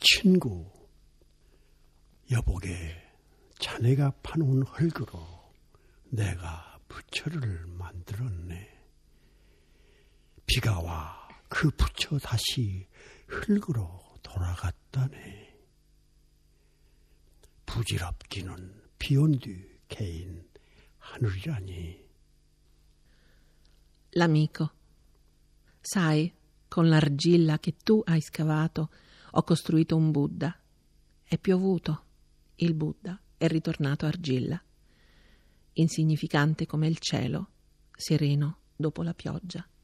친구, 여보게 자네가 파놓은 흙으로 내가 부처를 만들었네. 비가 와 그 부처 다시 흙으로 돌아갔다네. 부질없기는 비온 뒤 개인 하늘이라니. L'amico. Sai, con l'argilla che tu hai scavato ho costruito un Buddha. È piovuto. Il Buddha è ritornato argilla. Insignificante come il cielo, sereno dopo la pioggia.